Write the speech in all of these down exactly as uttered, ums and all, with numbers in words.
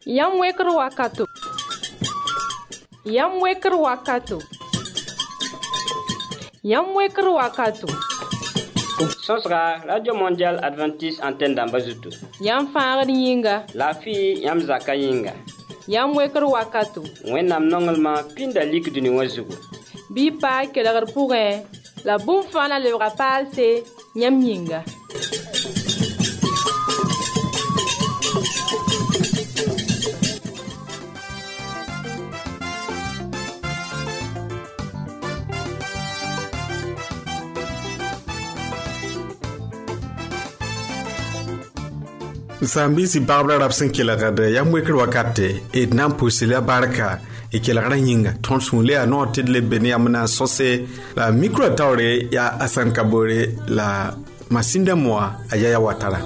Yam weker wakato. Yam weker wakato. Yam weker wakato. Sosra Radio Mondial Adventiste Antenne d'Ambazutu. Yam faar yinga. La fille yam zaka yinga. Yam weker wakato. Wennam nongelma pinda lik duni wazugu. Bi pa kelar pourre. La boum fana le rapal c'est yam yinga. Zambisi babra rapsen kilagade yam weker wakate e nam pusila barka e kilagara yinga tonsule a no tidle beni amna sose la micro tawre ya Asan Kabore la masinda moa ayaya watara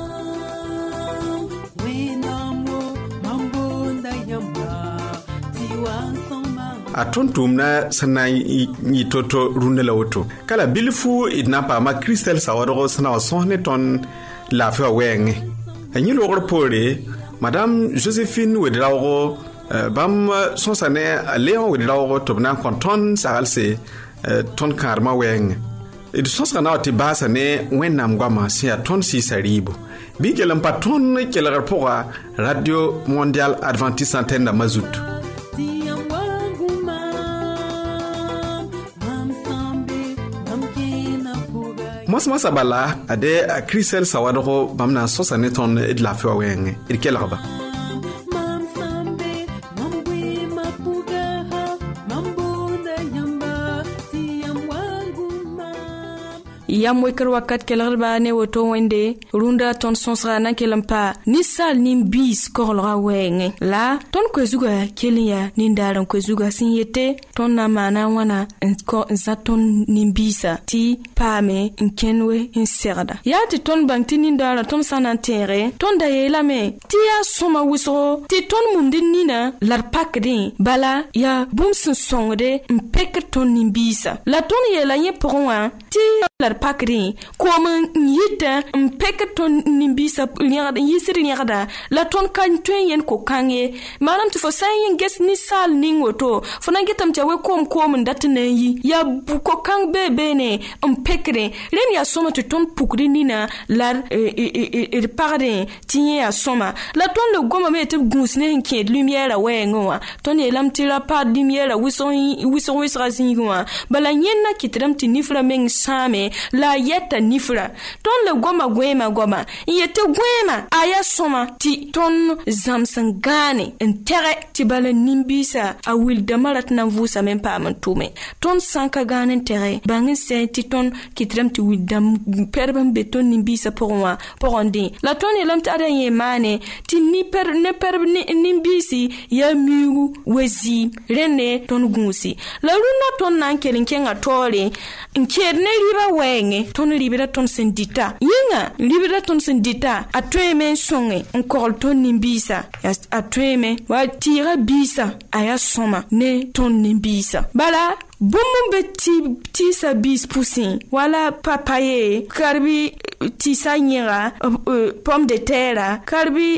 atontumna sana yi toto rundela woto kala bilfu idnapa ma Christel sawado sana sonne ton la fa wenge Any logor pore, Madame Josephine Wedrago, Bam Sonsane, a Leon Wedrago, Tobnan Conton, Salse, Ton Karma Weng. It Sonsana Tibasane, when Namguama, see a ton si saribo. Big Lampaton, Kelarapora, Radio Mondial Adventiste Antenne d'Ambazutu. Mos mos abala ade a Christel Sawadoro bamna sosane ton et la feu wenge il kelaba Yam weker wakat kelarba ne woto wende runda ton sonsra na kelampa ni sal nim bis korlra wenge la ton kwezuga kelia nindaran kwezuga sinyete ton na mana wana ko zaton nimbisa ti pame nkenwe inserda ya ti ton bangti nindara ton sanantere ton da yelame ti ya soma wiso ti ton mundin nina lar pakde bala ya bumsun songde mpek ton nimbisa la ton yela nye pourwa ti lar pakri comme yita mpek ton nimbisa liada yisiri liada la ton kan twen ko kange manam tu fo sayen ges ni sal ningoto fona getam tawe kom kom ndatne yi ya buko kang bebe ne mpekre len ya soma tu ton pukri nina lar e parade tinye ya soma la ton le goma me te gusne nke lumière we ngoa ton e lam tira pa lumière wison wison wisra zingoa bala nyenna kitram ti nifra meng same la yeta nifra ton le goma gwema goma yete gwema aya soma ti ton zamsangane entere ti bala nimbisa a wil damarat na vusa men pa man tume ton sanka ganen tere bangin se ti ton kitram ti wil dam perban beton nimbisa pourwa poronde la ton elam ta da yemane ti ni per ne per nimbisi ya miu wezi rene ton gunsi la luna ton nan kelin kenga tole nkerne liba wenge ton libera ton sendita yinga libera ton sendita atweme songe nkol ton nimbisa atweme wa tira bisa aya soma ne ton nimbisa bala Boumou beti ti sa bis poussin wala papaye karbi ti sa nyera pomme de terre karbi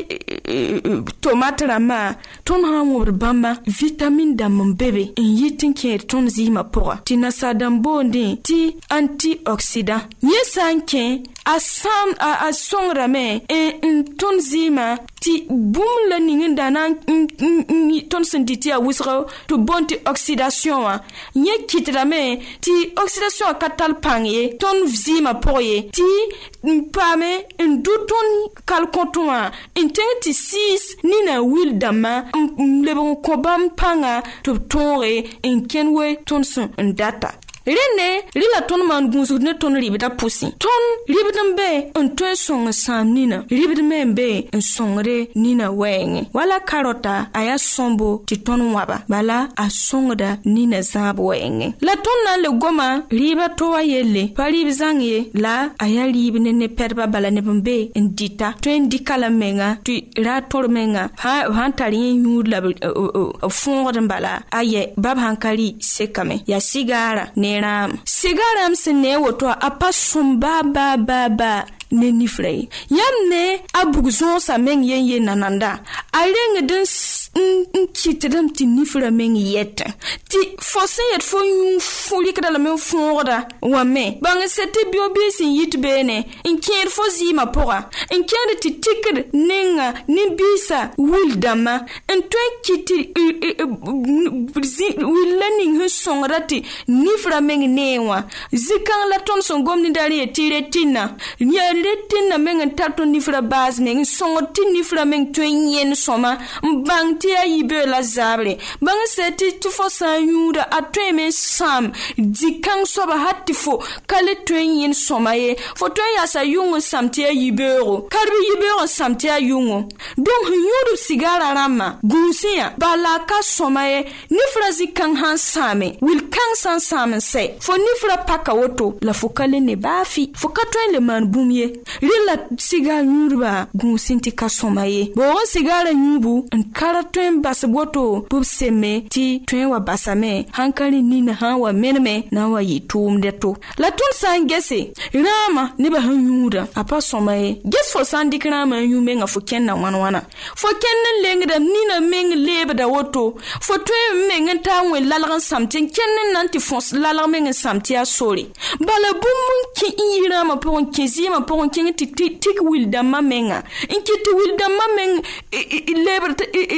tomate rama ton hamour bamba vitamine dam bébé yitin ke ton zima pora ti na sadam bonde ti antioxydant yesanke asam a songra me en ton zima ti boum la ninga na ton senditi a wisro to bonti oxydation wa nye kitrame ti oxydation katal pangye ton zima poye ti pame en douton kal kontwa intenti six ni na wil dama le bon kobam panga to tonre en kenwe ton son data Rene, lila ton man gunzu ne ton libida pusi. Ton libidam be un ton song sam nina. Libidam be un songre nina wenge. Wala karota aya sombo ti ton waba. Bala a songda nina zab wenge. La ton na le goma liba towa yele. Pali bizange la aya libine ne perba bala ne bambe ndita. Twen dikala menga tu ra tor menga. Ha hantari yud la fongre bala aye bab hankali sekame. Ya sigara ne Sigaram sene woto apa sumba ba ba ba ne nifrei yamne abugzon sa men yen yen nananda aleng den n kitdam tɩ nifra meng yɛtã tɩ fo sẽn yet fo yũ fũlikda lame n fõogda wã me bãng sɛ tɩ bio-bii sẽn yit beene n kẽed fo zɩɩmã pʋga n kẽed tɩ tikd nenga nin-biisã wil-dãmbã n tõe n kɩt will-la ning sẽn sõngda tɩ nifra meng nee wã zĩ-kãng la tõnd sẽn gom nindar n yet tɩ retinã yaa retinã meng n tar tõnd nifra baas meng n sõngd tɩ nifra meng tõe n yẽnd sõma n bãng tɩ yaa yibee la zaabre bãng sɛ tɩ tɩ fo sã n yũuda a tõeme n sãam zĩ-kãng soaba hat tɩ fo ka le tõe n yẽnd sõma ye fo tõe n yaasa yʋng n sãm tɩ yaa yibeoogo kadb yibeoog n sãm tɩ yaa yʋngo donc sẽn yũudb sigaara rãmbã gũusẽ yã bala a ka sõma ye nifra zĩ-kãng sãn sãame wil-kãng sãn sãam n sɛ fo nifra paka woto la fo ka le ne baafi fo ka tõe n le maan bũmb ye rẽ la sigaar yũudbã gũusẽ tɩ ka sõma ye boog n sigaarã yũubu n kara tõe n basb woto b b semme tɩ tõe n wa basame sãn ka rẽ nina sãn wa meneme na n wa yɩ tʋʋmdɛ to la tõnd sã n gese rãamã nebã sẽn yũuda a pa sõma ye ges fo sã n dɩk rãamã n yũ menga fo kẽnna wãn-wãna fo kẽnd n lengda nina meng leebda woto fo tõe n meng n taa wẽ lalg n sãm tɩ n kẽnd n na n tɩ fõs lalg meng n sãm tɩ yaa sore bala bũmb n kẽ n yɩ rãamã pʋgẽ n kẽ zɩɩmã pʋgẽ n kẽng tɩ tɩk wil-dãmbã menga n kɩt tɩ wil-dãmbã meng lebr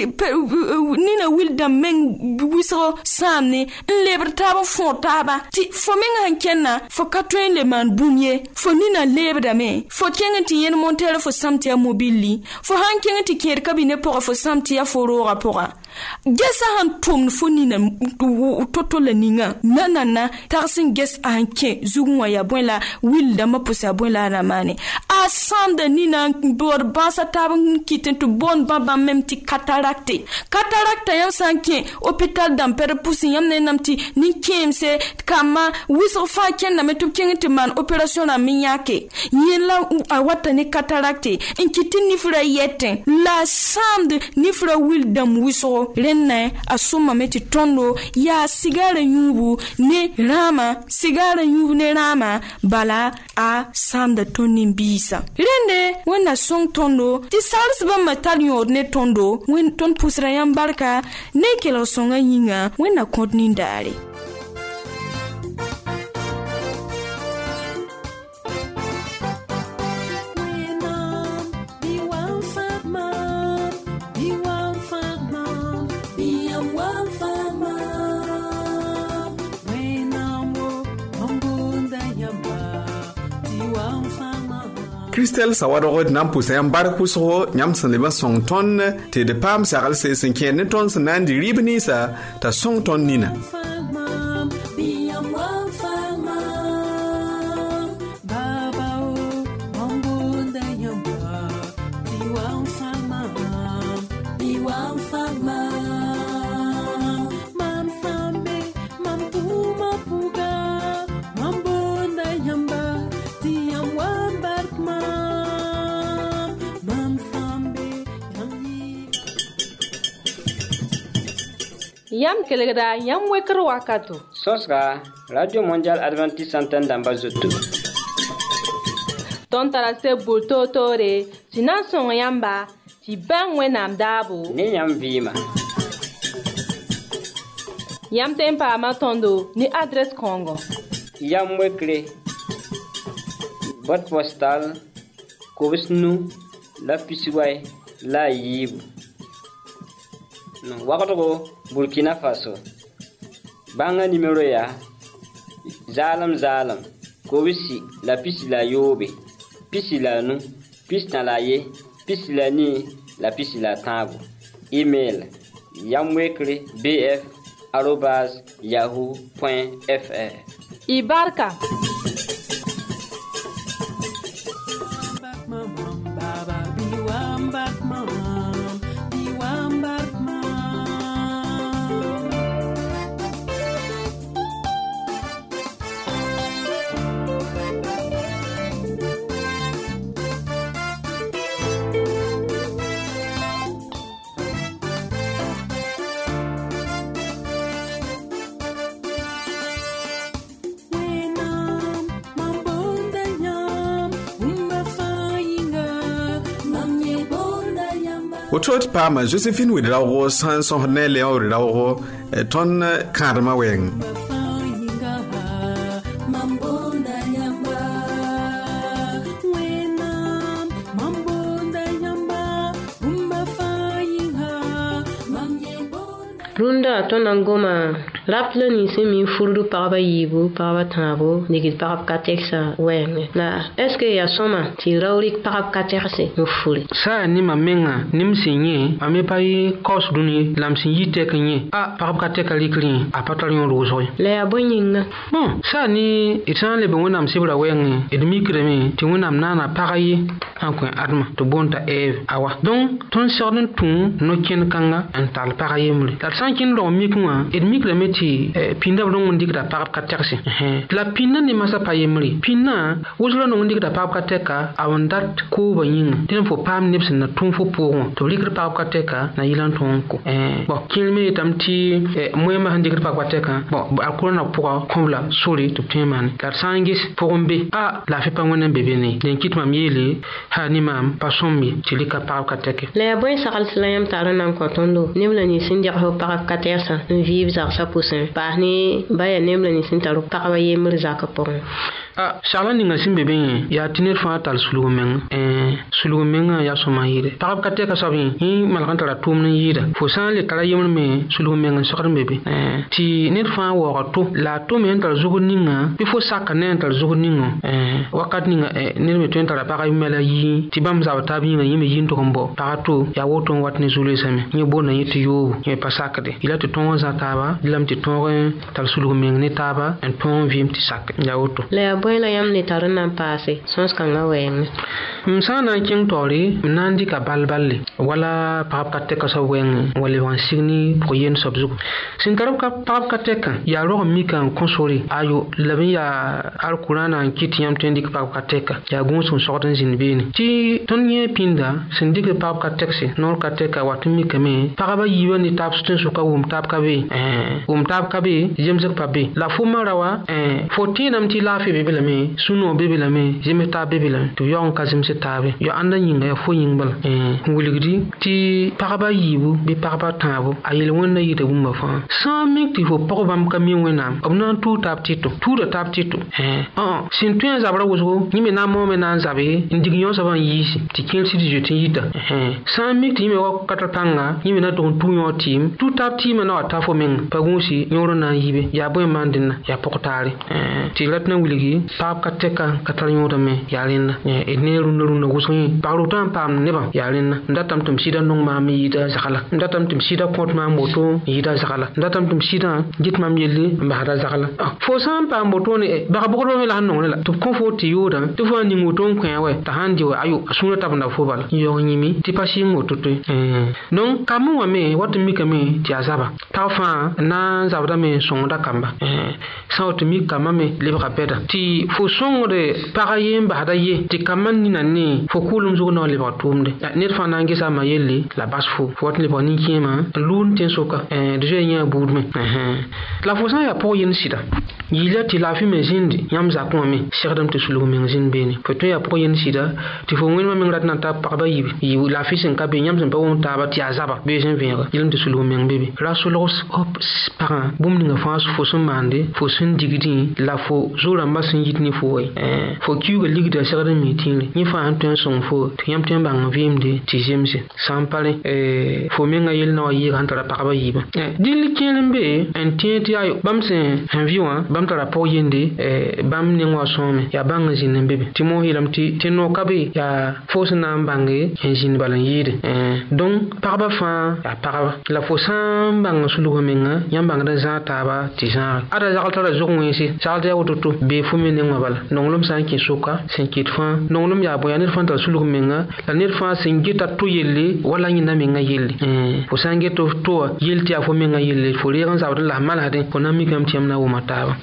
nina wil-dãmb meng wɩsg sãamne n lebr taab n fõor taaba tɩ fo meng sẽn kẽnna fo ka tõe n le maan bũmb ye fo nina leebdame fo kẽng tɩ yẽnd monteerã fo sãm tɩ yaa mobilli fo sãn kẽng tɩ kẽed kabine pʋga fo sãm tɩ yaa fo roogã pʋga gesa sẽn tʋmd fo nina to-to la ninga nanana tags n ges a sẽn kẽ zugẽ wã yaa bõe la wil-dãmbã pʋs yaa bõe la a na maane a sãamda nina n bood bãasa taab n kɩt n tɩ boond bãmb mem tɩ katarakte katarakta yãmb sã n kẽ hôpital dãmpɛd pʋsẽ yãmb ne nam tɩ nin-kẽemse kambã wɩsg fãa kẽndame tɩ b kẽng tɩ maan opération rãmb n yãke yẽ la a wata ne katarakte n kɩt tɩ nifra yɛtẽ la a sãamd nifra wil-dãmb wɩsgo rẽnna a sõmame tɩ tõndo yaa sigaarã yũubu ne rãamã sigaarã yũub ne rãamã bala a sãamda tõnd nin-biisã rẽnde wẽnna sõng tõndo tɩ sagls bãmbã tar yõod ne tõndo wẽnd tõnd pʋsra yãmb barka ne kelg sõngã yĩnga wẽnna kõt nindaare Christelle sawadog nan pʋʋsa yãmb bark pʋsgo yãmb sẽn leb n sõng tõnd tɩ d paam saglse sẽn kẽed ne tõnd sẽn na n dɩ rɩɩb ninsã t'a sõng tõnd nina yam kelgda yam wekr wakato sõsga radio mondial adventiste antenne dãmba zoto tõnd tara seb bʋʋr toor-toore tɩ na n sõng yãmba tɩ bãng wẽnnaam daabo ne yãmb vɩɩma yãmb tõe n paama tõndo ne adrɛs kãongo yam wekre boîte postale kobs nu la pisway la a yiibu wagdgo Burkina Faso bãngã nimero yaa zaalem zaalem kobsi la pisi la yoobe pisi la nu pisnã la ye pisi la nii la pisi la tãabo email yamwekre bf arobas yahoo point fr y barka woto tɩ paama Josephine wɩd raoogo sãn sõs ne Léon wɩd raoogo tõnd kãadmã wɛɛng. Runda tonan goma rapla ni semi furdu paraba yibu paraba tabo nigit parab kateksa wenge na eske ya soma ti rawrik parab katekse no furi sa ni ma menga nim sinye ame pai kos duni lam sin yite kenye a parab kateka likri a patalion rozo le abonyinga bon sa ni itan le bonam sibra wenge edmi kreme ti wonam nana pagayi ankwen adma to bonta eve awa donc ton sordun tun no ken kanga antal pagayi mule kin lo mikwa et mikla meti pinda lo ngondi da parap katerse la pinna ni masa payemri pinna wuzlo no ngondi da parap kateka awandat ko banyin tin fo pam nips na tun fo pour to likra parap kateka na yilan ton ko eh bon kilme tamti moyema handi parap kateka bon akura na pour komla sori to teman la sangis pour mbe a la fait pas ngona bébé ne den kitma miele ha ni mam pasommi tilika parap kateka le boy sakal slayam tarana ko tondo nimla ni sindia ho parap katersa vive za sa poussin par ni baya nemla ni sintaru paraba yemr zaka pon ah shala ninga simbe ben ya tinir fa tal sulu men eh sulu men ya soma yire parab kateka sabi hi malkan tara tum ni yida fo san le kala yemr me sulu men sakar mebe eh ti nir fa wo to la to men tar zugu ninga bi fo saka nen tar zugu ninga eh wakat ninga eh nir me to tara paraba mela yi ti bam za ta bi nga yime yin to kombo parato ya woto wat ni zulu same ni bona yiti yo ni pasaka de ila to ton za taba dilam ti ton tal sulu men ni taba en ton vim ti sak ya woto le boy la yam ne tarana passe sons kanga wen msana king tori nandi ka balballe wala pap kateka sa wen wala wan signi ko yen sobzu sin tarab ka pap kateka ya ro mi kan konsori ayo labin ya alqurana kiti yam tendi ka pap kateka ya gun son sortan zinbini ti tonye pinda sin dik pap katekse nor kateka watumi kame paraba yiwa ni tap stun suka wum tap kabe eh wum tap kabe jemzak pabe la fuma rawa eh fourteen am ti la fi bebe me suno bebe la me jeme ta bebe la to yon kazim se tabe yo anda yinga ya fo yingbal eh wuligdi ti paraba yibu be paraba tabo ayel wonna yite bumba fa cent mille ti fo probam kami wenam obna tu tap tito tu da tap tito eh ah sin tuen zabra wozo ni me na mo me na zabe indignon saban yisi ti kelsi di jeti yita eh cent mille ti me wa katatanga ni me na don tu yo tim tu tap ti me na ta fo men pagunsi nyoro na yibe ya boy mandina ya pokotari eh ti latna wuligi pap kateka katal nyoro me yalinna e ne runda runda wusoyi paro tan pam neba yalinna ndatam tum sida nong ma mi yida zakala ndatam tum sida kont ma moto yida zakala ndatam tum sida git mam yeli mbahara zakala fo sam pam moto ne ba bokoro me la non la to konfo ti yoda to fo ni moto kwen we ta handi we ayo asuna tabna fo bala yo nyimi ti pasi moto to eh non kamu wa me wat mi kame ti azaba ta fa na zabda me sonda kamba eh sa to mi kama me lebra beda ti fo songre paraye mbahada ye ti kaman ni nani fo kulum zugo no lebra tumde net fa nangi sa ma yeli la bas fo fo wat lebra ni kema lun ten soka eh deje nya budme eh la fo sa ya po yin sida yila ti la fi me zindi yam za ko me sherdam te sulu me zin beni fo to ya po yin sida ti fo ngin ma me rat na ta parba yibi yi la fi sen ka be yam sen pa won ta ba ti azaba be sen venga yilim te sulu me bebe rasulos hop para bum ni nga fa fo so mande fo sun digidi la fo zura masin yitni fo eh fo kiuga ligda sherdam mi tinle ni fa an ton son fo ti yam ten bang vimde ti jemse sampale eh fo me nga yel na yi kan ta parba yiba eh dil kelembe en tienti ayo bam sen en viwa bam tara po yende eh bam ni ngwa some ya bang jin bebe ti mo hilam ti ti no kabe ya fo sana bange en jin balan yide eh donc parba fa ya parba la fo sam bang sulu menga yam bang da za taba ti za ada za tara zongwe si sa da wototo be fu me ne ngwa bala nonglum san ki suka sen kit fa nonglum ya boya ne fa ta sulu menga la ne fa sen gita to yelle wala ni na menga yelle eh fo san geto to yelti afo menga yelle fo re gan za la mala de ko na mi kam tiam na wo mata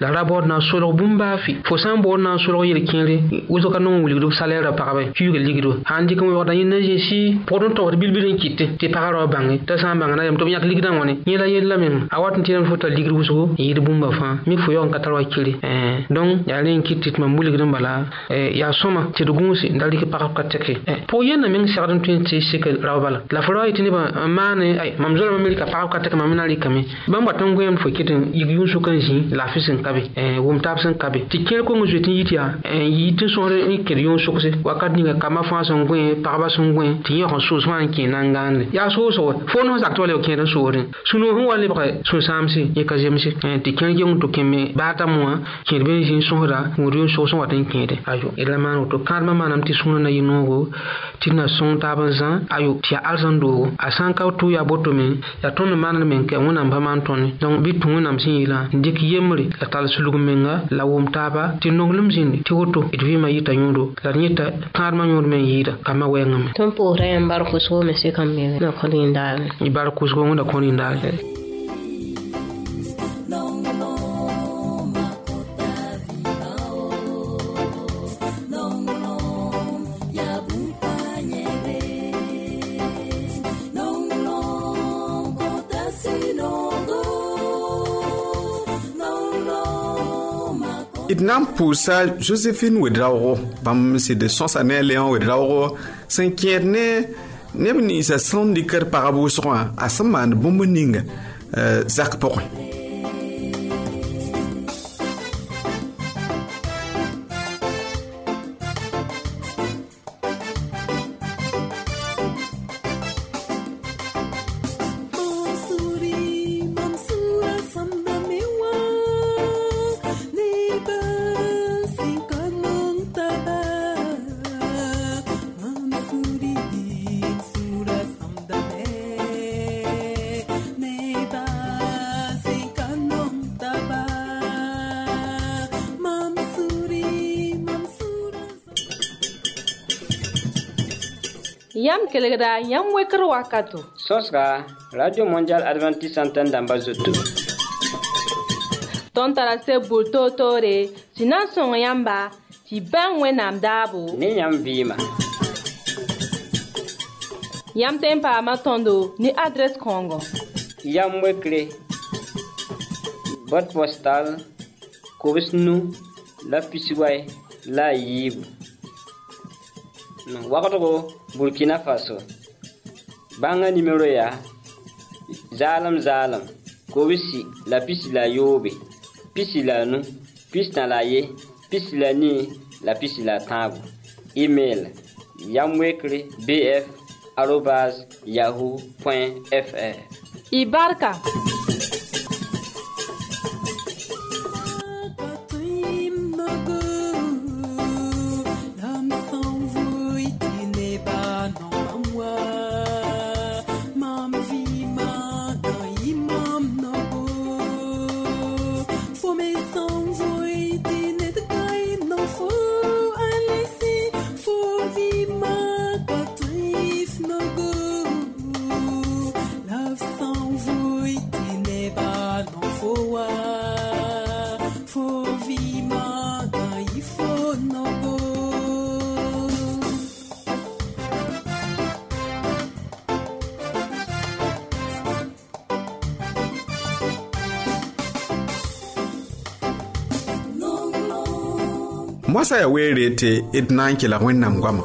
la rabord na solo bumba fi fo san bo na solo yel kinre uzo kanon wuli salaire pa ba kyuge ligdo handi ko wada yina jesi podon to bilbilin kitte te pararo bangi ta san banga na yam to yak ligdan woni yela yella men awat ntiran fota ligru uzo yidi bumba fa mi fo yon katarwa kiri eh donc ya len kitte ma mbuli gidan bala eh ya soma te dugunsi ndali ke parap kateke eh po yena men sardan twenty sikel rawbala la fo itini ba mane ay mamzola mamilika parap kateke mamina likame bamba tango yam fo kitin yigun su kan ji la fisin kabe eh wum tapsen kabe ti kel ko ngujetin yitia eh yitin so re kerion sokse wakat ni kama fa son gwe paraba son gwe ti yo so so an ki nangande ya so so fo no zakto le ken so rin suno hu wale ba so samsi ye ka jemsi ti ken yong to kemme bata mo ki be jin so ra ngurion so so watin kede ayo ila man to karma manam ti suno na yinogo ti na son tabanzan ayo ti alzando asan ka to ya botomi ya ton man men ke wona ba man ton donc bi tu nam sin ila dik yemri la tal sulugum menga la wum taba ti noglum sin ti woto idwi ma yita nyodo la nyita karma nyodo men yida kama wengam ton po rayan bar ko so me se kam me na ko ni ndal i bar ko so ngona ko ni ndal Idnam poussa Joséphine Wedraoro, bam c'est de son sané Léon Wedraoro, s'inquiète ne ne sa son diker parabou soin à saman bomboning Zach Porin. Yam kelegda yam weker wakato. Sosra Radio Mondial Adventiste Antenne d'Ambazoto. Ton tarase bulto tore, sinan son yamba, ti ben wenam dabo. Ni yam bima. Yam tempa matondo ni adresse Congo. Yam wekre. Boîte postale Kobisnu la Pisiway la Yib. Wakato Burkina Faso. Banga numéro ya Zalam Zalam Kobisi la pisi la yobe pisi la nu pisi na la ye pisi la ni la pisi la tabu. Email yamwekre bf arobase yahoo point fr. Ibarka Mwasa ya werete idnanki la wena mgwama.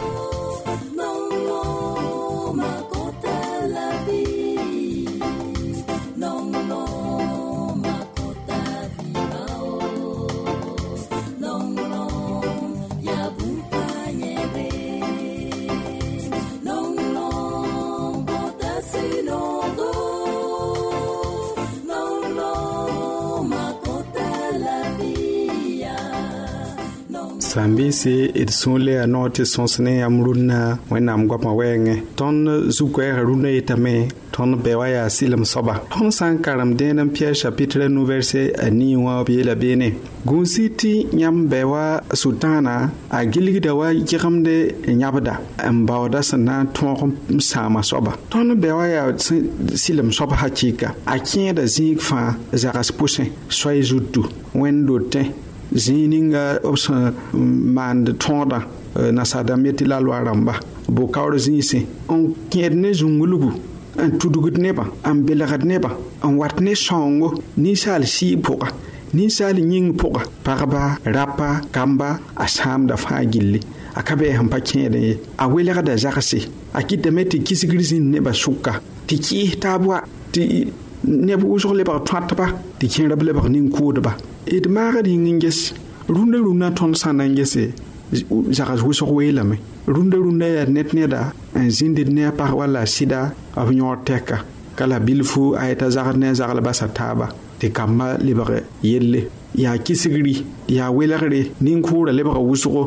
Sambisi it sunle a note sonsne amruna when I'm got my wang. Ton Zuque rune itame, ton bewaya silum soba. Ton sankaram denam Pierre chapitre nouverse a niwa biela bene. Gunsiti nyam bewa sultana a gilgidawa jiramde nyabada and bawdasana ton sama soba. Ton bewaya silum soba hachika. I can't a zig fa zaras pushing, soy zutu, when do te. Zininga opsa man de tonda na sadameti la loaramba bo kawre zinse on kiedne zungulugu an tudugut neba an belagat neba an watne songo ni sal si poka ni sal nying poka parba rapa kamba asam da fagilli akabe hampa kiede a welega da zakase akite meti kisigrizin neba suka tiki tabwa ti nebu usole ba twatba ti kinra ble ba nin kodba it magadi nges runda runda ton sanangese jagas wuso welame runda runda ya net neda en zinde ne par wala sida avion teka kala bilfu ayta zagarne zagal basa taba te kamba libre yelle ya kisigri ya welagre nin kura libre wuso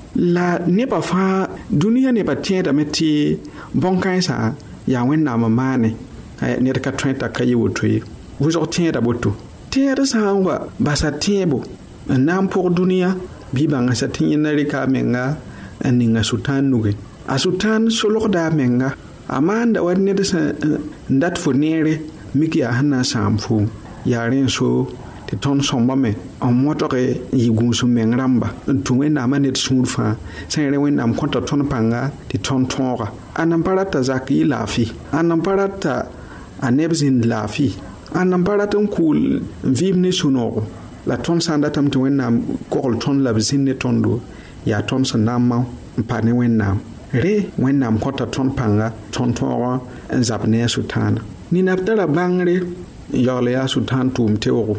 la ne ba fa dunia ne ba tienda meti bonkansa ya wenna mamane ne ka trenta kayi wotwe wuso tienda botu tienda sangwa basa tiebo nam pour dunia bibanga satin rika menga aninga sultan nuge a sultan solorda menga amanda wadne da ndat fonere miki a hana samfu yaren so te ton somba me en motore yigun su mengramba tuwe na manet sulfa sere wen am konta ton panga te ton tonga anam parata zaki lafi anam parata anebzin lafi anam parata kul vivne sunoro la ton sanda tam to wennam kokol ton la bisinne tondo ya ton sanama mpane wennam re wennam kota ton panga ton tora zabne sultana ni naftara bangre yole ya sultan tum tewo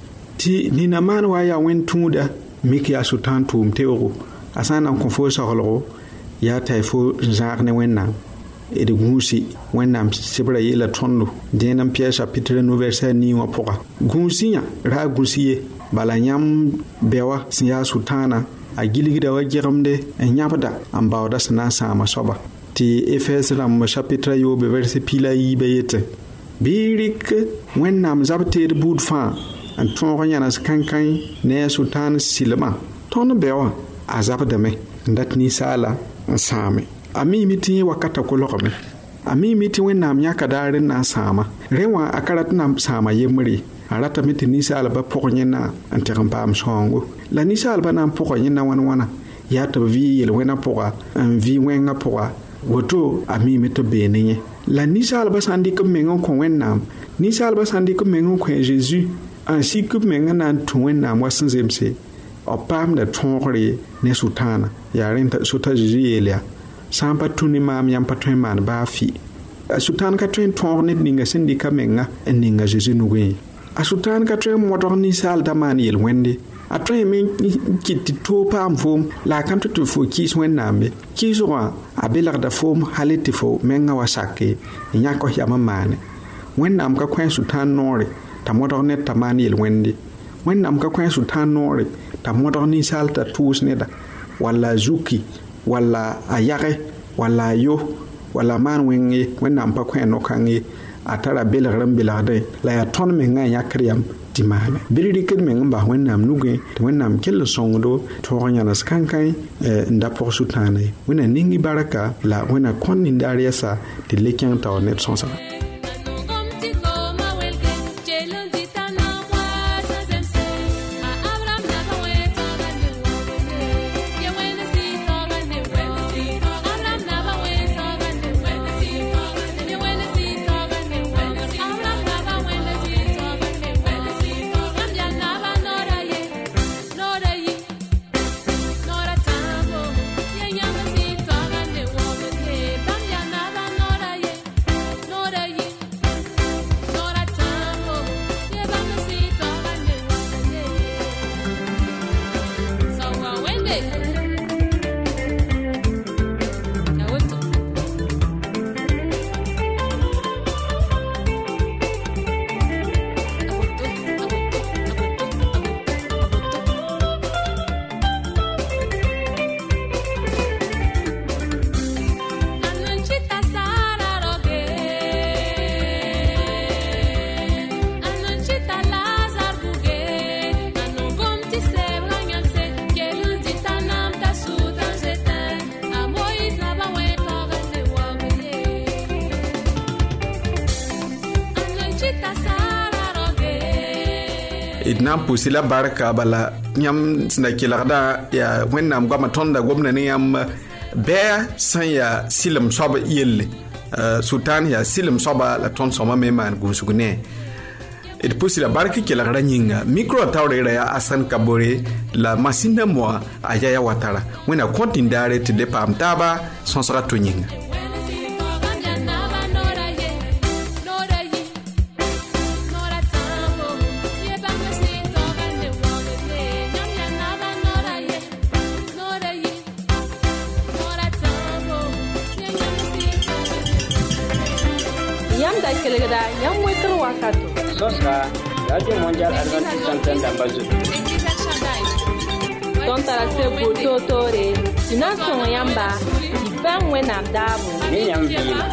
ti ni na man wa ya wen tumuda miki ya sultan tum tewo asana ko fo saholo ya taifo zarne wennam e de gusi wennam sibra yela tondo denam pièce chapitre no verset ni wa poka gusinya ra gusiye bala nyam bewa siya sultana a gilgida wa jiramde en nyabda an bawda sana sama soba ti Efes ram chapitre yo be verset pila yi beyete birik wennam zabte de bud fa an ton yana kankan ne sultan silma ton bewa azabda me ndat ni sala an same ami miti wakata ko lokome ami miti wennam nyaka darin na sama rewa akarat na sama yemri arata miti nisa alba pokonyena anteram pam songo la nisa alba na pokonyena wana wana ya to vi yel wena poka an vi wenga poka woto ami mito benenye la nisa alba sandi ko mengo ko wennam nisa alba sandi ko mengo ko Jesus ainsi que menga na to wennam wasanzemse o pam da tonre ne sultana ya renta suta Jesus yelia sampa tuni mam yam patwen man ba fi sultan ka twen tonre ninga sindika menga ninga Jesus nuwe a sultan ka tren motor ni sal daman yel wende a tren min kiti to pam fom la kan to fo kis wennambe kiswa a belar da fom haliti fo menga wasake nya ko yama mane wennam ka kwen sultan nore ta motor net taman yel wende wennam ka kwen sultan nore ta motor ni sal ta tus neda wala zuki wala ayare wala yo wala man wenge wennam pa kwen no kangi atara belagran belagde la ya ton me nga ya kriyam timane biridi ken me ngamba wennam nuge to wennam kel songdo to nya nas kankai nda por sutane wena ningi baraka la wena kon ni dariasa de lekyan taw net sonsa Nora idna pusila barka bala yam sna kilagda ya wennam goma tonda gomna ne yam bea san ya silim soba yelle sultan ya silim soba la ton soma me man gusugne et pusila barka kilagda nyinga micro tawre ya asan kabore la masina mo aya ya watara wena kontindare te de pam taba sonsra to nyinga Sosra, Radio Mondial Adventiste Antenne d'Ambazo. Tontara se boto tore, sinasong yamba, ibang wenam dabu. Ni yam vila.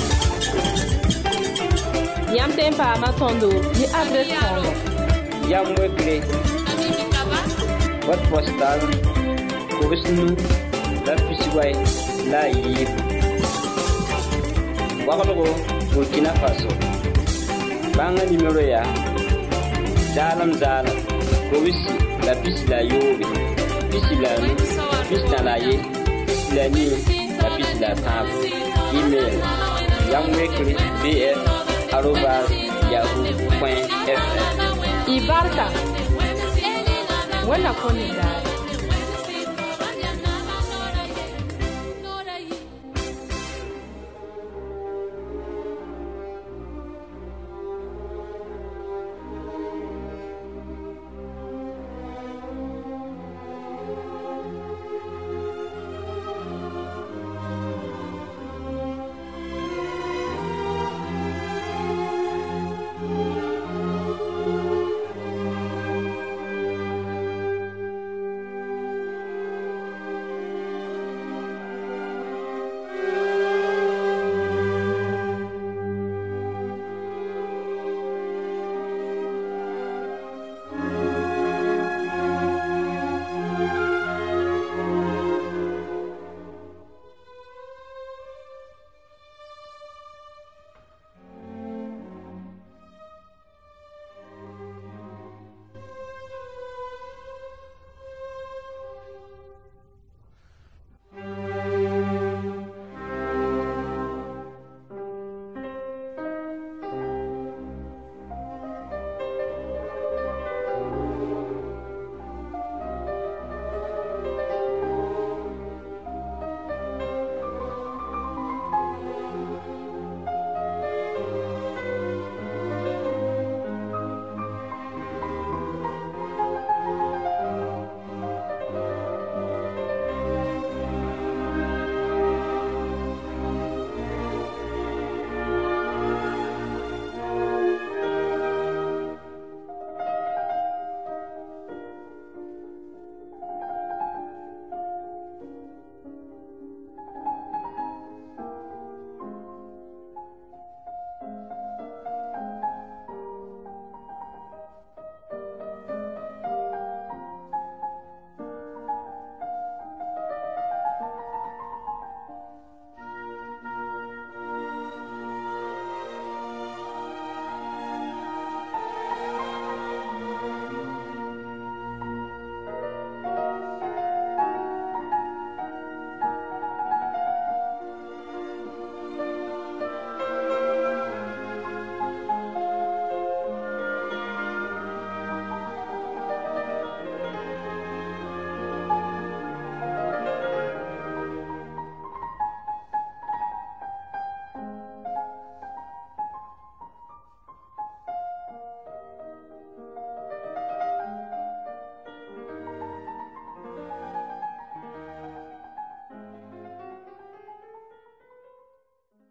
Yam tempa matondo, ni adres kono. Yam wekle. Wat postal, kubisnu, la pisiwai, la yib. Wakalogo, Burkina Faso. Banga numéro ya zalam zalam kowisi la pisi la yobe pisi la nu pisi na la ye pisi la ni la pisi la tabu email yamwekri bf arobas yahoo point fr Ibarka wala koni dai